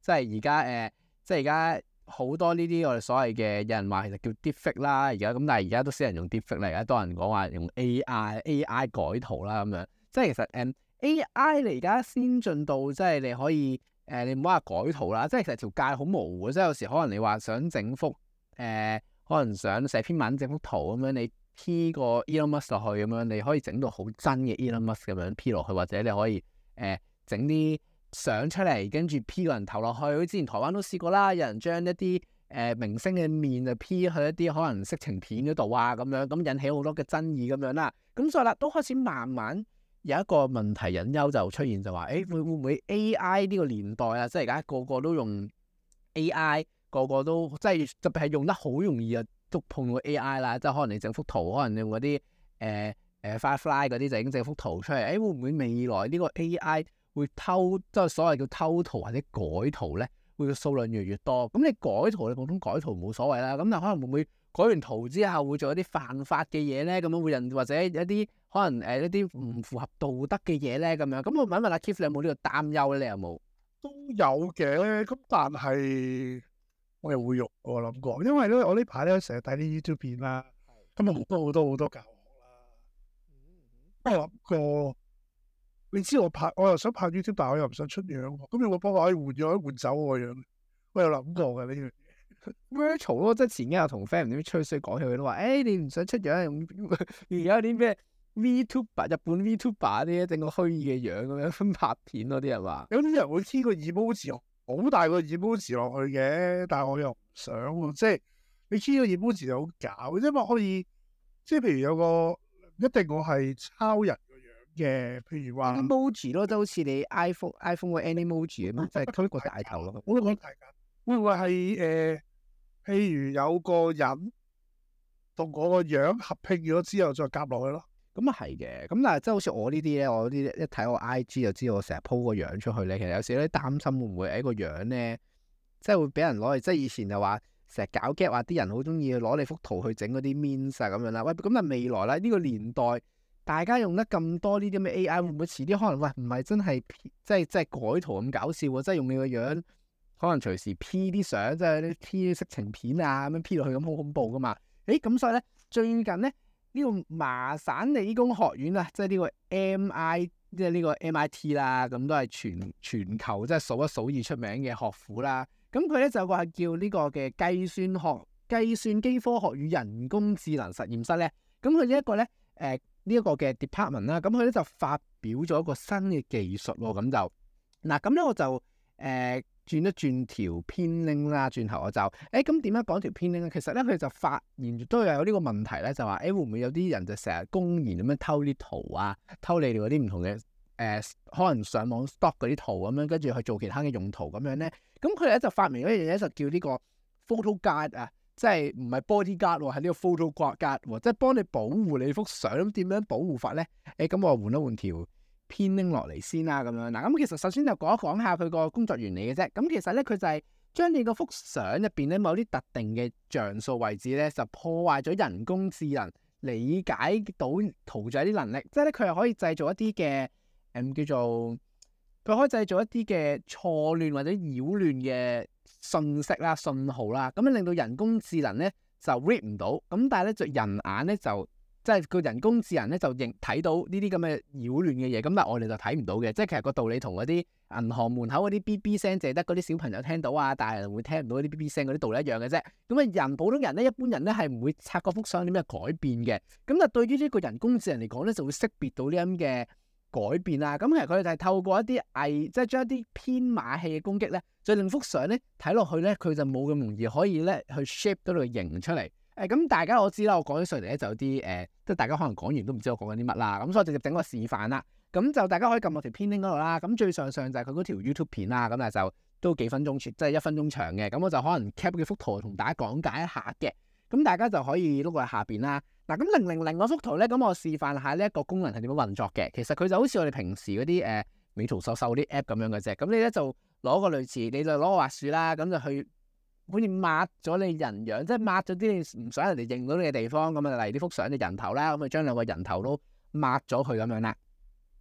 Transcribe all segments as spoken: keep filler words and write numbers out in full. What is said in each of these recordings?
即係而家誒，即係而家好多呢啲我哋所謂嘅有人話其實叫 deepfake 啦，而家咁，但係而家都少人用 deepfake 嚟，而家多人講話用 A I，A I 改圖啦咁樣。即係其實誒、嗯、A I 你而家先進到即係你可以誒、呃，你唔好話改圖啦，即係其實條界好模糊，即係有時可能你話想整幅誒、呃，可能想寫篇文整幅圖咁樣，你 P 個 Elon Musk 落去咁樣，你可以整到好真嘅 Elon Musk 咁樣 P 落去，或者你可以誒整啲相出嚟，跟住 P 個人頭落去。好似之前台灣都試過啦，有人將一啲誒、呃、明星嘅面就 P 去一啲可能色情片嗰度啊，咁樣咁引起好多嘅爭議咁樣啦。咁所以啦，都開始慢慢有一個問題隱憂就出現，就話誒、欸、會會唔會 A I 呢個年代啊，即係而家個個都用 A I，個個都即係特別係用得好容易啊，都碰到 A I 啦。即係可能你整幅圖，可能你用嗰啲誒誒 Firefly 嗰啲就已經整幅圖出嚟。誒、欸、會唔會未來呢個 A I 會偷，即係所謂叫偷圖或者改圖咧，會數量越嚟越多？咁你改圖，你普通改圖冇所謂啦。咁但可能會唔會改完圖之後會做一啲犯法嘅嘢咧？咁樣會人或者一啲可能誒一啲唔符合道德嘅嘢咧？咁樣咁我問一問阿 Keith，你有冇呢個擔憂咧？你有冇？ 都有嘅，咁但係我又會用我諗過，因為咧我呢排咧成日睇啲 YouTube 片啦，咁啊好多好多好多教學啦。我諗過，你知我拍，我又想拍 YouTube，但係我又唔想出樣，咁有冇幫我可以換咗換走我個樣？我有諗過嘅呢樣嘢。 virtual 咯，即係前幾日同 friend 唔知吹水講起，佢都話：誒、欸、你唔想出樣，而家有啲咩 VTuber 日本 VTuber 啲整個虛擬嘅樣咁樣拍片咯，啲人話。 有啲人會黐個 emoji 好大個 emoji 落去嘅，但係我又唔想喎，即係你黐個 emoji 就好搞，因為可以即係譬如有個一定我係抄人個樣嘅，譬如話 emoji 咯，就好似你 iPhone iPhone 個 Animoji 咁樣，即係推個大頭咯。 我都覺得太假，會唔會係誒、呃？譬如有個人同我個樣合拼咗之後再夾落去咯。 咁啊係嘅，咁但係即係好似我呢啲咧，我呢啲一睇我 I G 就知道我成日 po 個樣出去咧。其實有時咧擔心會唔會喺個樣咧，即係會俾人攞嚟，即係以前就話成日搞 gag 話啲人好中意攞你幅圖去整嗰啲 memes 啊咁樣啦。喂，咁但係未來啦，呢個年代大家用得咁多呢啲咁嘅 A I，會唔會遲啲可能喂唔係真係即係即係改圖咁搞笑喎？即係用你個樣，可能隨時 P 啲相，即係啲 P 啲色情片啊咁樣 P 落去咁好恐怖噶嘛？誒咁所以咧最近咧。呢個麻省理工學院啊，即係呢個 M I，即係呢個 M I T 啦，咁都係全全球即係數一數二出名嘅學府啦。咁佢咧就有個係叫呢個嘅計算學、計算機科學與人工智能實驗室咧。咁佢呢一個咧，誒呢一個嘅 department 啦，咁佢咧就發表咗一個新嘅技術喎。咁就嗱，咁咧我就誒。呃轉一轉條編 link 啦，轉頭我就誒咁點樣講條編 link 咧？其實咧佢就發現都有呢個問題咧，就話誒、欸、會唔會有啲人就成日公然咁樣偷啲圖啊，偷你哋嗰啲唔同嘅誒、呃，可能上網 stock 嗰啲圖咁樣，跟住去做其他嘅用途咁樣咧。咁佢哋咧就發明咗一樣嘢，就叫呢個 photo guard 啊，即係唔係 body guard 喎，係呢個 photo guard 喎，即係幫你保護你幅相。咁點樣保護法咧？誒、欸、咁我換一換條編拎落嚟先啦，咁樣嗱，咁其實首先就講一講下佢個工作原理嘅啫。咁其實咧，佢就係將你嗰幅相入邊咧某啲特定嘅像素位置咧，就破壞咗人工智能理解到圖像啲能力。即係咧，佢係可以製造一啲嘅誒叫做，佢可以製造一啲嘅錯亂或者擾亂嘅信息啦、信號啦，咁樣令到人工智能咧就 read 唔到。咁但係咧，就人眼咧就即係個人工智能咧就認睇到呢啲咁嘅擾亂嘅嘢，咁但係我哋就睇唔到嘅。即係其實個道理同嗰啲銀行門口嗰啲 B B 聲，淨係得嗰啲小朋友聽到啊，大人會聽唔到嗰啲 B B 聲嗰啲道理一樣嘅啫。咁啊，人普通人咧，一般人咧係唔會察嗰幅相點樣改變嘅。咁啊，對於呢個人工智能嚟講咧，就會識別到呢咁嘅改變啊。咁其實佢哋就係透過一啲偽，即係將一啲編碼器嘅攻擊咧，再令幅相咧睇落去咧，佢就冇咁容易可以咧去 shape 到個形出嚟。誒咁、嗯、大家我知啦，我講起上嚟咧就有啲誒，即、呃、係大家可能講完都唔知我講緊啲乜啦。咁所以我直接整個示範啦。咁就大家可以撳落條片 link 嗰度啦。咁最上上就係佢嗰條 YouTube 片啦。咁但係就都幾分鐘，即係一分鐘長嘅。咁我就可能 cap 幾幅圖同大家講解一下嘅。咁大家就可以碌過去下邊啦。嗱，咁零零零嗰幅圖咧，咁我示範下呢一個功能係點樣運作嘅。其實佢就好似我哋平時嗰啲誒美圖秀秀啲 app 咁樣嘅啫。咁你咧就攞個類似，你就攞個滑鼠啦，咁就去。好似抹咗你人樣，即係抹咗啲你唔想人哋認到你嘅地方咁啊，例如呢幅相嘅人頭啦，咁啊將兩個人頭都抹咗佢咁樣啦。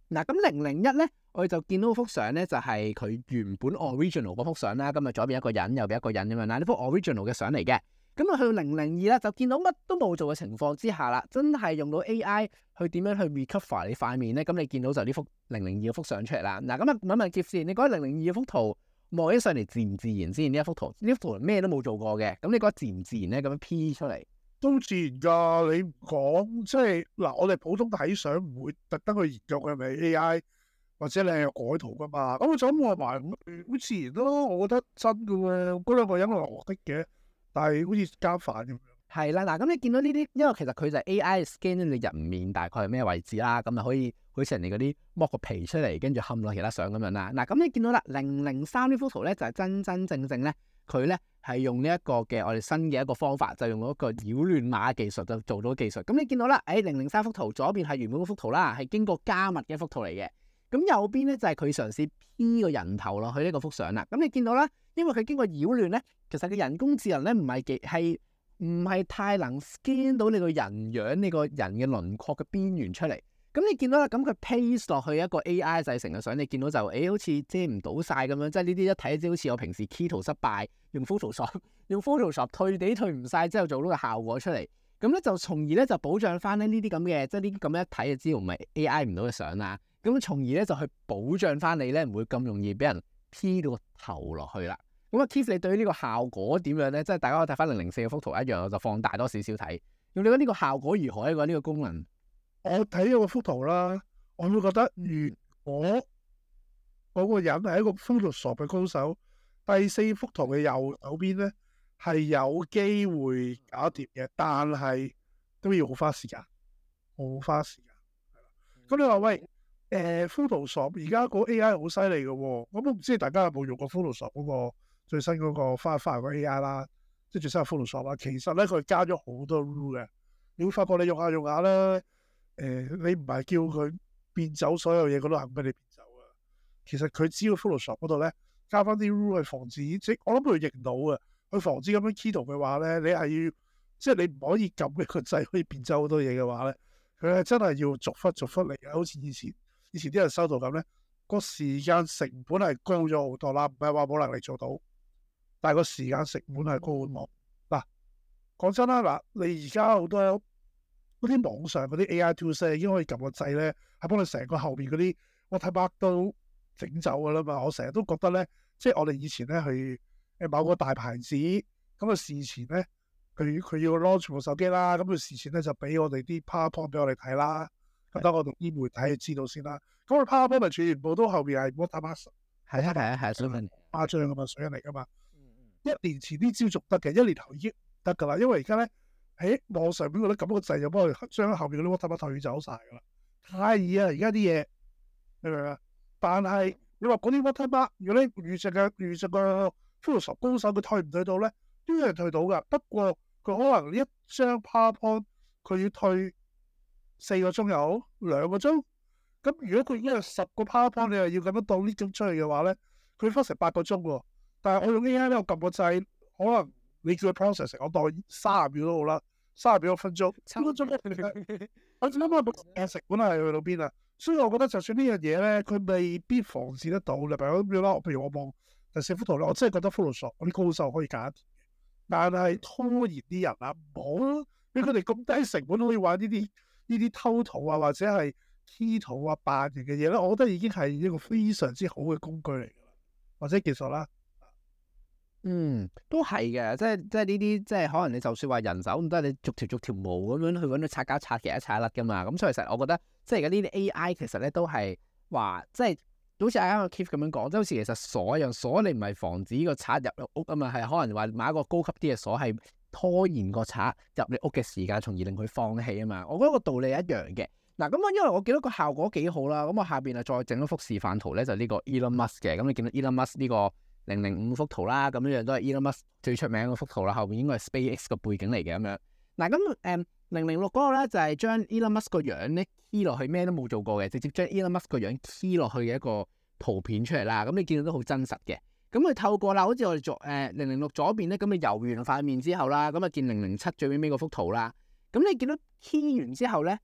嗱，咁零零一咧，我哋就見到幅相咧，就係佢原本 original 嗰幅相啦。咁啊，左邊一個人，右邊一個人咁樣啦。呢幅 original 嘅相嚟嘅。咁啊，去到零零二啦，就見到乜都冇做嘅情況之下啦，真係用到 A I 去點樣去 recover 你塊面咧？咁你見到就呢幅零零二嘅幅相出嚟啦。嗱，咁啊，問問 Keith 先，你覺得零零二嘅幅圖望起上嚟自唔自然先？呢一幅圖，呢幅圖咩都冇做過嘅，咁你覺得自唔自然咧？咁樣 P 出嚟都自然㗎。你唔講即係嗱，我哋普通睇相唔會特登去研究佢係咪 A I 或者你係改圖㗎嘛。咁我就咁話埋，好自然咯。我覺得真㗎喎，嗰兩個人係落的嘅。但係好似加飯咁樣， 係啦，嗱，咁你見到呢啲，因為其實佢就係 A I scan 咗你人面大概係咩位置啦，咁就可以好似人哋嗰啲剝個皮出嚟，跟住冚落其他相咁樣啦。嗱，咁你見到啦，零零三呢幅圖咧就係真真正正咧，佢咧係用呢一個嘅我哋新嘅一個方法，就用嗰個擾亂碼技術就做到技術。咁你見到啦，誒零零三幅圖左邊係原本嗰幅圖啦，係經過加密嘅一幅圖嚟嘅。咁右邊咧就係佢嘗試 P 個人頭落去呢個幅相啦。咁你見到啦，因為佢經過擾亂咧，其實個人工智能咧唔係幾係唔係太能 scan 到你個人樣、你個人嘅輪廓嘅邊緣出嚟。咁你見到啦，咁佢 paste 落去一個 A I 製成嘅相，你見到就誒、欸、好似遮唔到晒咁樣，即係呢啲一睇就好似我平時 key 圖失敗，用 Photoshop 用 Photoshop 退地退唔晒之後做到個效果出嚟。咁咧就從而咧就保障翻咧呢啲咁嘅，即係呢啲咁一睇就知道唔係 A I 唔到嘅相啦。咁從而咧就去保障翻你咧唔會咁容易俾人 P 到個頭落去啦。咁啊 Keith 你對於呢個效果點樣咧？即係大家可以睇翻零零四嘅幅圖一樣，我就放大多少少睇。咁你覺得呢個效果如何呢？呢個功能？ 我睇咗個幅圖啦，我會覺得如果嗰個人係一個 Photoshop 嘅高手，第四幅圖嘅右手邊咧係有機會搞掂嘅，但係都要好花時間，好花時間。咁你話喂，誒、呃、Photoshop 而家個 A I 好犀利嘅喎，咁我唔知大家有冇用過 Photoshop 嗰個最新嗰個花花個 A I 啦，即係最新嘅 Photoshop 啦。其實咧佢加咗好多 rule 嘅，你會發覺你用下用下咧，誒、呃、你唔係叫佢變走所有嘢，佢都肯俾你變走啊。其實佢只要 Photoshop 嗰度咧加翻啲 rule 去防止，即我諗佢認到啊，去防止咁樣 key 圖嘅話咧，你係要即係你唔可以撳一個掣可以變走好多嘢嘅話咧。佢係真係要逐忽逐忽嚟嘅，好似以前以前啲人收到咁咧，個時間成本係高咗好多啦，唔係話冇能力做到，但係個時間成本係高好多。嗱，講真啦，嗱，你而家好多嗰啲網上嗰啲 A I tools 已經可以撳個掣咧，係幫你成個後邊嗰啲 watermark 都整走噶啦嘛。我成日都覺得咧，即係我哋以前咧去誒某個大牌子咁啊，事前咧。佢佢要 launch 部手機啦，咁佢事前咧就俾我哋啲 PowerPoint 俾我哋睇啦，咁等我讀啲媒體去知道先啦。咁佢 PowerPoint 咪全部都後邊係 watermark， 係啊係啊係啊，水分誇張咁嘛，水印嚟噶嘛。一年前啲招續得嘅，一年後已經唔得噶啦，因為而家咧喺網上邊嗰啲撳個掣就幫佢將後邊嗰啲 watermark 退走晒噶啦，太易啊！而家啲嘢你明唔明啊？但係你話嗰啲 watermark，如果你遇上嘅遇上個 Photoshop 高手，佢退唔退到咧？都有人退到噶，不過。佢可能一張 PowerPoint 佢要退四個鐘又好，兩個鐘。咁如果佢已經有十個 PowerPoint，你又要咁樣當呢種出去嘅話咧，佢花成八個鐘喎。但係我用 A I 咧，我撳個掣，可能你叫佢 process，我當三十秒都好啦，三十秒一分鐘，三分鐘我諗下成本係去到邊啊？所以我覺得就算呢樣嘢咧，佢未必防止得到。例如咁樣啦，譬如我望第四幅圖咧，我真係覺得 Photoshop 嗰啲高手可以揀。但係拖延啲人啊，唔好咯，俾佢哋咁低成本可以玩呢啲呢啲偷圖啊，或者係 key 圖啊、扮人嘅嘢咧，我覺得已經係一個非常之好嘅工具嚟㗎啦，或者技術啦。 嗯，都係嘅，即係即係呢啲，即係可能你就算話人手咁多，你逐條逐條毛咁樣去揾到擦膠擦嘅一擦甩㗎嘛。咁所以其實我覺得，即係而家呢啲 A I 其實咧都係話，即係。好似啱啱 Keith 咁樣講，即係好似其實鎖一樣鎖，你唔係防止個賊入屋啊嘛，係可能話買一個高級啲嘅鎖，係拖延個賊入你屋嘅時間，從而令佢放棄啊嘛。我覺得個道理一樣嘅。嗱，咁啊，因為我見到個效果幾好啦，咁我下邊啊再整一幅示範圖咧，就呢個 Elon Musk 嘅。咁你見到 Elon Musk 呢個零零五幅圖啦，咁樣樣都係 Elon Musk 最出名嗰幅圖啦，後邊應該係 SpaceX 個背景嚟嘅咁樣。嗱，咁誒零零六嗰個咧就係將 Elon Musk 個樣咧 key 落去，咩都冇做過嘅，直接將 Elon Musk 個樣 key 落去嘅一個圖片出嚟啦。咁你見到都好真實嘅。咁佢透過啦，好似我哋左誒零零六左邊咧，咁你游完塊面之後啦，咁啊見零零七最尾尾嗰幅圖啦。咁你見到 key 完之後咧，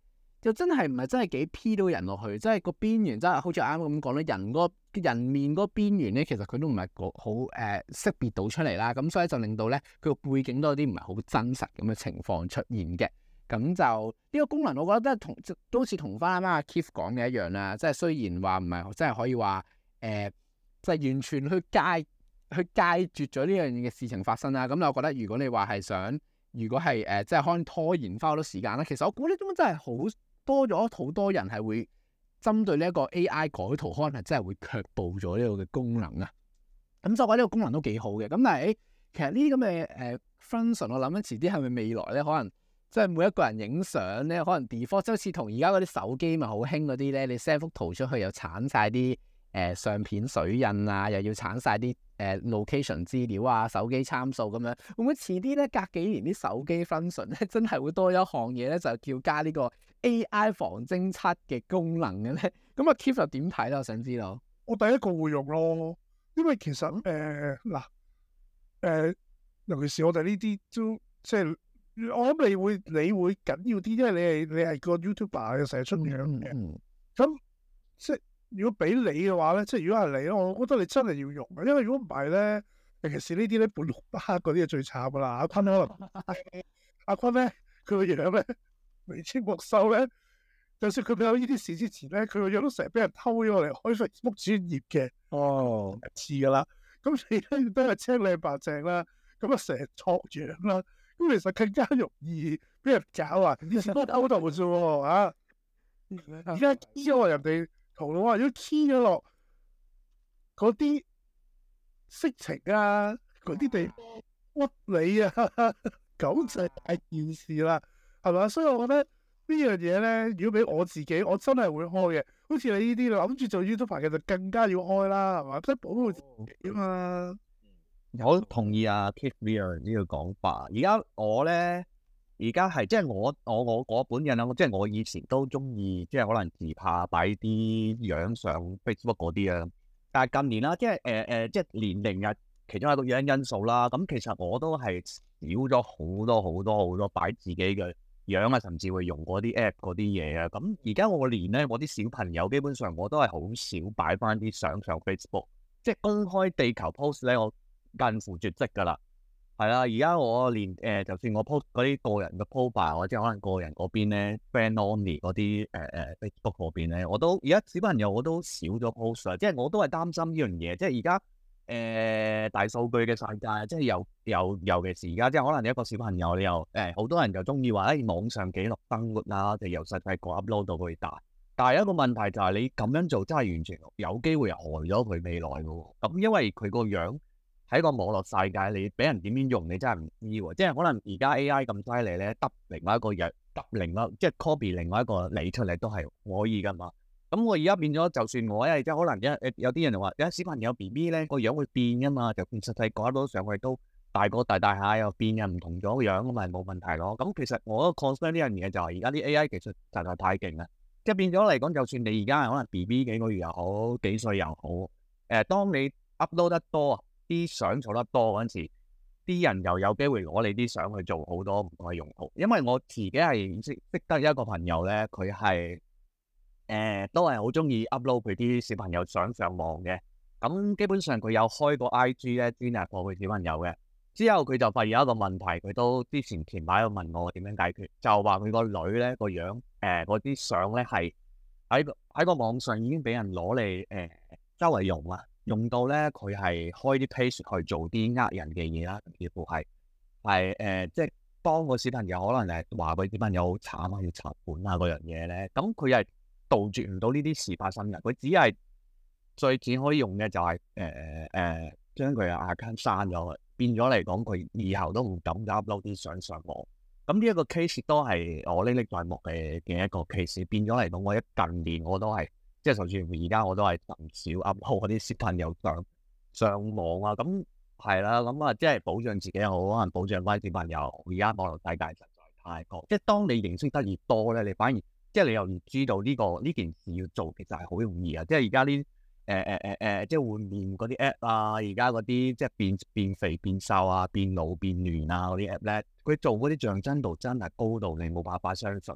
就真係唔係真係幾 P 到人落去，即係個邊緣真係好似啱啱咁講咧，人嗰人面嗰個邊緣咧，其實佢都唔係好誒識別到出嚟啦。咁所以就令到咧佢個背景都有啲唔係好真實咁嘅情況出現嘅。咁就呢、這個功能，我覺得都同都好似同翻啱啱阿 Keith 講嘅一樣啦。即係雖然話唔係真係可以話誒，即、呃、係、就是、完全去戒去戒絕咗呢樣嘢嘅事情發生啦。咁我覺得如果你話係想，如果係誒即係可能拖延翻好多時間啦，其實我估呢種真係好多咗好多人係會針對呢一個 A I 改圖，可能係真係會卻步咗呢個嘅功能啊。咁就我覺得呢個功能都幾好嘅。咁但係誒，其實呢啲咁嘅誒 function，我諗緊遲啲係咪未來咧，可能即係每一個人影相咧，可能 default 即係好似同而家嗰啲手機咪好興嗰啲咧，你 send 幅圖出去又鏟晒啲誒相片水印啊，又要鏟晒啲誒 location 資料啊、手機參數咁樣，會唔會遲啲咧？隔幾年啲手機 function 咧，真係會多一項嘢咧，就叫加呢個 A I 防偵測嘅功能嘅咧？咁啊 Keith 又點睇咧？我想知道。 我第一個會用咯，因為其實誒嗱誒，尤其是我哋呢啲都即係。我諗你會你會緊要啲，因為你係你係個 YouTuber 成日出樣嘅。咁、嗯嗯、即係如果俾你嘅話咧，即係如果係你咧，我覺得你真係要用嘅，因為如果唔係咧，尤其是呢啲咧半綠不黑嗰啲係最慘噶啦。阿坤可能阿坤咧，佢個樣咧眉清目秀咧，就算佢未有呢啲事之前咧，佢個樣都成日俾人偷咗嚟開 Facebook 專頁嘅。哦，似噶啦。咁你咧都係青靚白淨啦，咁啊成日錯樣啦。咁其實更加容易俾人搞啊！以前都偷渡啫喎，啊！而家 key 咗落人哋圖嘅話，如果 key 咗落嗰啲色情啊，嗰啲地方屈你啊，咁就係大件事啦，係嘛？所以我覺得呢樣嘢咧，如果俾我自己，我真係會開嘅。好似你呢啲諗住做 YouTuber 嘅，就更加要開啦，係嘛？即係保護自己啊嘛。 我同意啊 Keith Weir 呢個講法。而家我咧，而家係即係我我我我本人啊，即係我以前都中意，即係可能自拍擺啲樣上 Facebook 嗰啲啊。但係近年啦，即係誒誒，即係年齡啊，其中一個原因因素啦。咁其實我都係少咗好多好多好多擺自己嘅樣啊，甚至會用嗰啲 app 嗰啲嘢啊。咁而家我連咧，我啲小朋友基本上我都係好少擺翻啲相上 Facebook， 即係公開地球 post 咧，我近乎絕跡噶啦，係啦。而家我連誒、呃，就算我 post 嗰啲個人嘅 profile，或者可能個人嗰邊咧 friend only 嗰啲誒誒 Facebook 嗰邊咧，我都而家小朋友我都少咗 post 啦。即係我都係擔心呢樣嘢。即係而家誒大數據嘅世界，即係又又尤其是而家，即係可能你一個小朋友，你又誒好、呃、多人就中意話喺網上記錄生活啦，就由細細個 upload 到佢大。但係一個問題就係你咁樣做真係完全有機會害咗佢未來嘅喎。咁因為佢個樣。喺個網絡世界，你俾人點樣用，你真係唔知喎。即係可能而家 A I 咁犀利咧，得另外一個嘢，得另外即係 copy 另外一個你出嚟都係可以噶嘛。咁我而家變咗，就算我因為即係可能一有啲人就話，有小朋友 B B 咧個樣會變噶嘛，就變實際改到上去都大個大大下又變又唔同咗個樣咁咪冇問題咯。咁其實我個 concern 呢樣嘢就係而家啲 A I 技術實在太勁啦，即係變咗嚟講，就算你而家係可能 B B 幾個月又好，幾歲又好，誒、呃，當你 upload 得多啊，啲相做得多嗰陣時，啲人又有機會攞你啲相去做好多唔同嘅用途。因為我自己係識識得一個朋友咧，佢係誒都係好中意 upload 佢啲小朋友相上網嘅。咁基本上佢有開個 I G 咧，專係幫佢小朋友嘅。之後佢就發現有一個問題，佢都之前前排有問我點樣解決，就話佢個女咧個樣誒嗰啲相咧係喺個喺個網上已經俾人攞嚟誒周圍用啊。用到咧，佢係開啲 page 去做啲呃人嘅嘢啦，幾乎係係誒，即係幫個小朋友可能誒話佢小朋友好慘啊，要查本啊嗰樣嘢咧。咁佢係杜絕唔到呢啲事發生嘅。佢只係最只可以用嘅就係誒誒將佢嘅 account 刪咗，變咗嚟講佢以後都唔敢 upload 啲相上網。咁呢一個 case 都係我歷歷在目嘅嘅一個 case。變咗嚟講，我一近年我都係。即係就算而家我都係唔少 upload 嗰啲小朋友上上網啊，咁係啦，咁啊即係保障自己又好，可能保障翻小朋友。而家網絡世界實在太過，即係當你認識得越多咧，你反而即係你又越知道呢、這個呢件事要做其實係好容易啊！即係而家呢誒誒誒誒，即係換面嗰啲 app 啊，而家嗰啲即係變變肥變瘦啊、變老變嫩啊嗰啲 app 咧，佢做嗰啲像真度真係高到你冇辦法相信。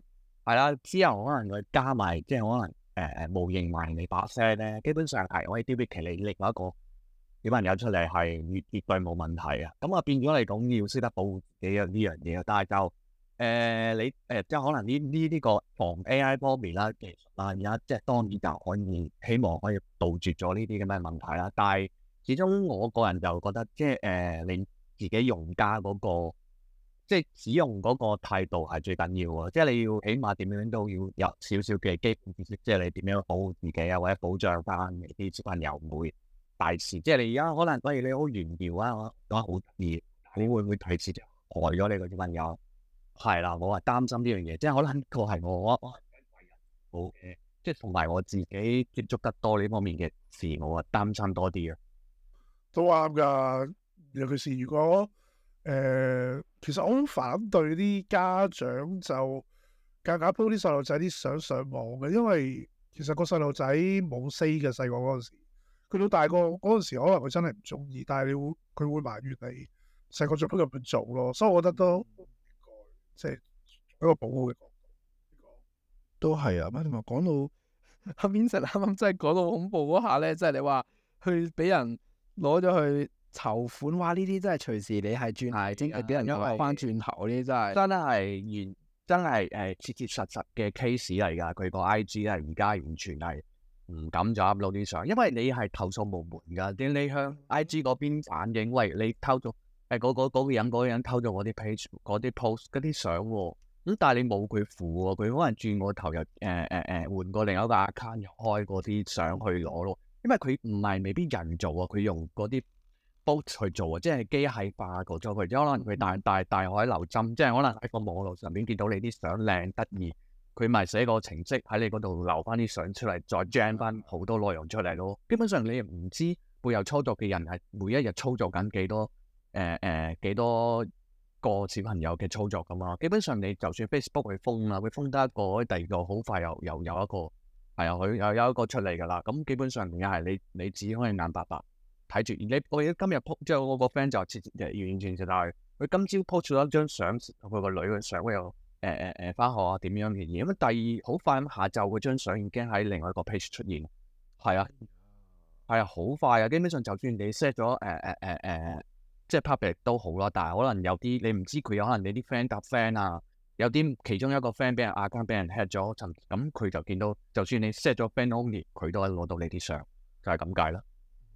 係啦，之後可能佢加埋即係可能誒誒、呃、模型埋你把聲咧，基本上係可以 duplicate 你另外一個小朋友出嚟係絕絕對冇問題啊。咁啊變咗嚟講要識得保護自己呢樣嘢，但係就誒、呃、你誒、呃、即係可能呢呢呢個防 A I 方面啦、技術啦，而家即係當然就可以希望可以杜絕咗呢啲咁嘅問題啦。但係始終我個人就覺得即係誒、呃、你自己用家嗰、嗰個。即係使用嗰個態度係最緊要喎，即係你要起碼點樣都要有少少嘅基本知識，即係你點樣保護自己啊，或者保障翻你啲小朋友唔會大事。即係你而家可能，例如你好炫耀啊，講得好得意，你會唔會提示就害咗你個小朋友？係啦，我係擔心呢樣嘢，即係可能個係我我好嘅，即係同埋我自己接觸得多呢方面嘅事，我係擔心多啲啊。 都啱㗎，尤其是如果。誒、呃，其實我好反對啲家長就夾硬 po 啲細路仔啲相上網嘅，因為其實個細路仔冇 say 嘅，細個嗰陣時，佢到大個嗰陣時，可能佢真係唔中意，但係你會佢會埋怨你細個做乜咁樣做咯，所以我覺得都即係一個保護嘅角度， 都係啊。乜同埋講到阿 Vincent 啱啱真係講到恐怖嗰下咧，即係你話去俾人攞咗去。籌款哇！呢啲真係隨時你係轉係，真係俾人攞翻轉頭，呢啲真係真係完，真係誒切切實實嘅 case 嚟㗎。佢個 I G 係而家完全係唔敢再 upload 啲相，因為你係投訴無門㗎。點你向 I G 嗰邊反映，喂，你偷咗誒嗰嗰嗰個人嗰個人偷咗我啲 page 嗰啲 post 嗰啲相喎，咁但係你冇佢符喎，佢可能轉個頭又誒誒誒換過另一個 account 又開嗰啲相去攞咯，因為佢唔係未必人做啊，佢用嗰啲。去做啊，即係機械化過咗佢，即可能佢大大大海撈針，即係可能喺個網絡上面見到你啲相靚得意，佢咪寫個程式喺你嗰度留翻啲相出嚟，再 gen 翻好多內容出嚟咯。基本上你唔知背後操作嘅人係每一日操作緊幾多誒誒幾多個小朋友嘅操作噶嘛。基本上你就算 Facebook 去封啦，佢封得一個，第二個好快又又有一個係啊，佢又有一個出嚟噶啦。咁基本上又係你你只可以眼白白。睇住，你我而家今日 po 即係我個 friend 就切完全就係佢今朝 po 咗一張相，佢個女嘅相又誒誒誒翻學啊點樣嘅嘢，咁第二好快咁下晝嗰張相已經喺另外一個 page 出現，係啊係啊好快啊，基本上就算你 set 咗誒誒誒誒即係 public 都好啦，但係可能有啲你唔知佢有可能你啲 friend 搭 friend 啊，有啲其中一個 friend 俾人 account 俾人 hack 咗，咁佢就見到，就算你 set 咗 friend only，佢都可以攞到你啲相，就係咁解啦。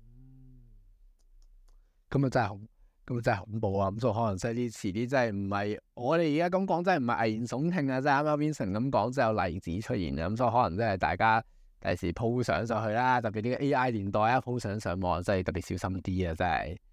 咁啊真係恐，咁啊真係恐怖啊！咁所以可能即係啲遲啲真係唔係我哋而家咁講，真係唔係危言聳聽啊！即係啱啱 Vincent 咁講，真係有例子出現啊！咁所以可能真係大家第時 po 相上去啦，特別呢個 A I 年代啊，po 相上網真係特別小心啲啊！真係。